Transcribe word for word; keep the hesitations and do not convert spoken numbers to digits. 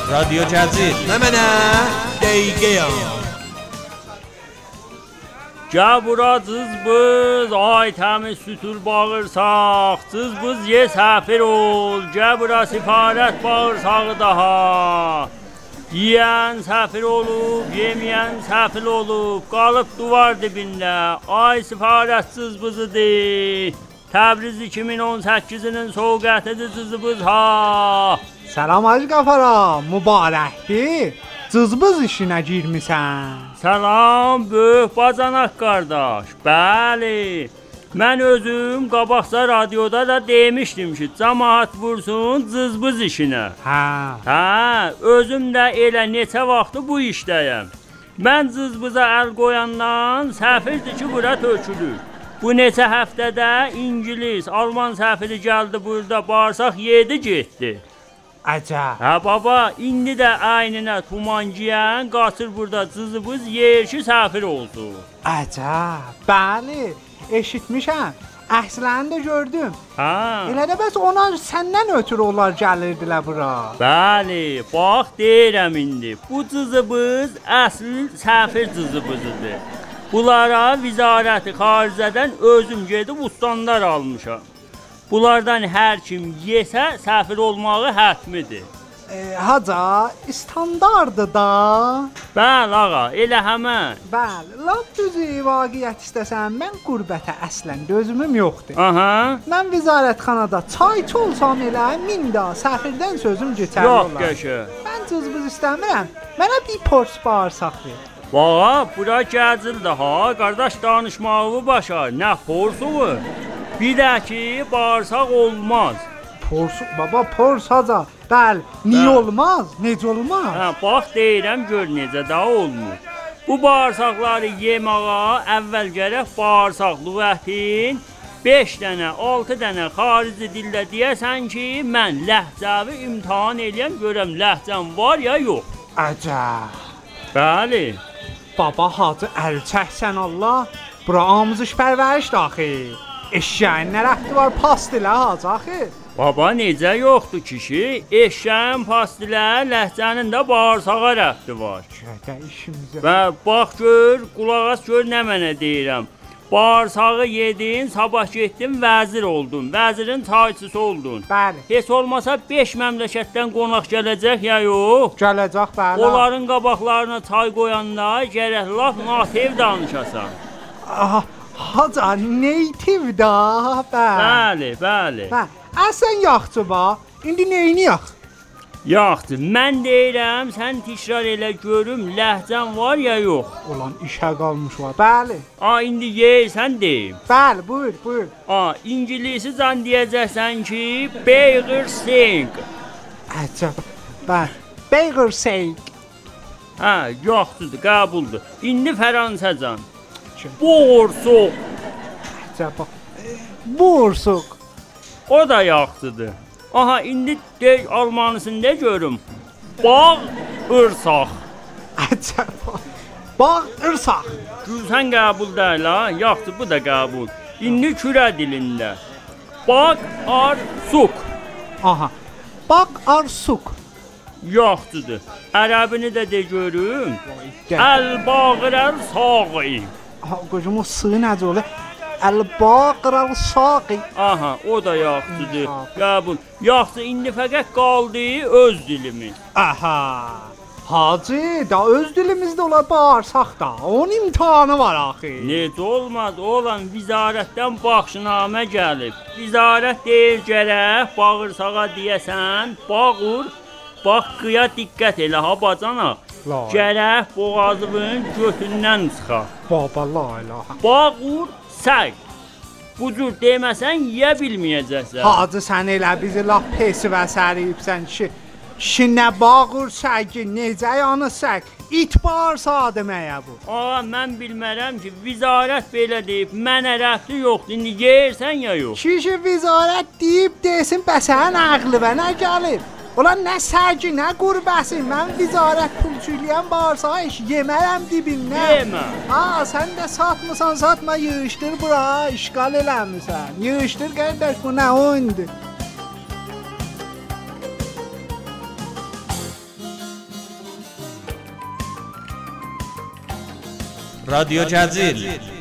رادیو جزیر نه منه دیگه Cabura cızbız, ay təmiz sütür bağırsaq, cızbız ye səfir ol, cabura sifarət bağırsağı daha. Yiyən səfir olub, yeməyən səfil olub, qalıb duvar dibində, ay sifarət cızbızıdır. Təbriz iki min on səkkizinin soğuqətidir cızbız ha. Salam Hacı Qafara, mübarəkdir. Cızbız işinə girmisən. Salam, böyük bacanaq qardaş. Bəli, mən özüm qabaqca radioda da demişdim ki, cəmaət vursun cızbız işinə. Hə. Hə, özüm də elə neçə vaxtı bu işdəyəm. Mən cızbıza əl qoyandan səfirdir ki, bura tökülür. Bu neçə həftədə İngilis, Alman səfiri gəldi burada, bağırsaq yedi getdi. Əcəb. Hə baba, indi də aynına tuman giyən qaçır burada cızbız yer ki səfir olsun. Əcəb. Bəli, eşitmişəm. Əslən də gördüm. Hə. Elə də bəs ona səndən ötürü onlar gəlirdilər bura. Bəli, bax deyirəm indi. Bu cızbız əsl səfir cızbızıdır. Bunlara Vizarəti Xaricədən özüm gedib ustandar almışam. Bunlardan hər kim yesə səfir olmağı hətmidir. E, haca, standardı da. Bəli ağa, elə həmən. Bəli, lap düzü vaqiət istəsən, mən qürbətə əslən dözümüm yoxdur. Aha. Mən vizarətxanada çayçı olsam elə min da səfirdən sözüm geçərli olar. Yox qəşə. Mən cızbız istəmirəm. Mənə bir pors bağırsaq ver. Bağa, bura gəlcildi ha, qardaş danışmağı başa, nə porsu? Bir də ki, bağırsaq olmaz. Pors, baba pors haca. Bəli, niyə Bəl. olmaz? Necə olmaz? Hə, bax deyirəm, gör necə də olmur. Bu bağırsaqları yeməyə əvvəl gərək bağırsaq lüğətin beş dənə, altı dənə xarici dildə deyəsən ki, mən ləhcəvi imtahan eləyəm, görəm ləhcəm var ya yox. Əcəb. Bəli. Baba hacı əl çəksən Allah. Bura amuzış pərvəriş daxil. Eşyəyin nə rəxti var pastilə hacı axı? Baba necə yoxdur kişi? Eşyəyin pastilə, ləhcənin də bağırsağa rəxti var. Gədə işimizə. Və bax gör, qulaq as gör nə mənə deyirəm. Bağırsağı yedin, sabah getdin, vəzir oldun, vəzirin çayçısı oldun. Bəli. Heç olmasa beş məmləkətdən qonaq gələcək ya yox? Gələcək bəli. Onların qabaqlarına çay qoyanda gərək laf nativ danışasan. Aha, haca native da, bəli. Bəli, bəli. Bəli. Əsən yaxçı bax. İndi neyini yax? Yaxdır, mən deyirəm, sən təkrar elə görüm, ləhcən var ya yox. Olan işə qalmış var. Bəli. A, indi yeyirsən deyim. Bəli, buyur, buyur. A, İngilisi can deyəcəksən ki, Burger Sing. Əcəb. Bəli. Burger Sing. Hə, yaxşıdır, qəbuldur. İndi Fransızcan. Boğursuq. Əcəb. Boğursuq. O da yaxşıdır. Aha, indi de almanısını de görüm. Bağ ırsaq. Əcəb. Bağ ırsaq. Gülsən qəbul deyil ha, yaxşı bu da qəbul. İndi kürə dilində. Bağ arsuk. Aha. Bağ arsuk. Yaxşıdır. Ərəbini də de görüm. Gəl. Əl-bağır əl-saği. Aha, qocum o sığ necə olur? Əl-bağır əl-saqi. Aha, o da yaxşıdır. Qəbul. Yaxşı, indi fəqət qaldı öz dilimiz. Aha. Hacı, da öz dilimizdə ola bağırsaq da. Onun imtahanı var axı. Necə olmaz, olan vizarətdən baxşınamə gəlib. Vizarət deyir gərək bağırsağa deyəsən, bağır, bax qıya diqqət elə ha bacana. Gərək boğazının götündən çıxa. Baba la ilaha. Bağır, səq. Bu cür deməsən, yeyə bilməyəcəksən. Hacı, sən elə bizi laf pesi və səriyibsən ki, ki nə bağır səki, necə yanı sək, it bağırsa deməyə bu. Aa, mən bilmərəm ki, vizarət belə deyib, mənə rəfti yoxdur, indi yeyirsən ya yox. Kişi vizarət deyib desin, bəsən əqli və nə gəlib? Ulan nə səki, nə qurbəsi, mən vizarət pulçuyləyən bağırsa iş yemərəm dibindən. Yemə. Ha, sən də satmısan, satma, yığışdır bura, işgal eləmirsən. Yığışdır qardaş, bu nə oyundur? رادیو جزیل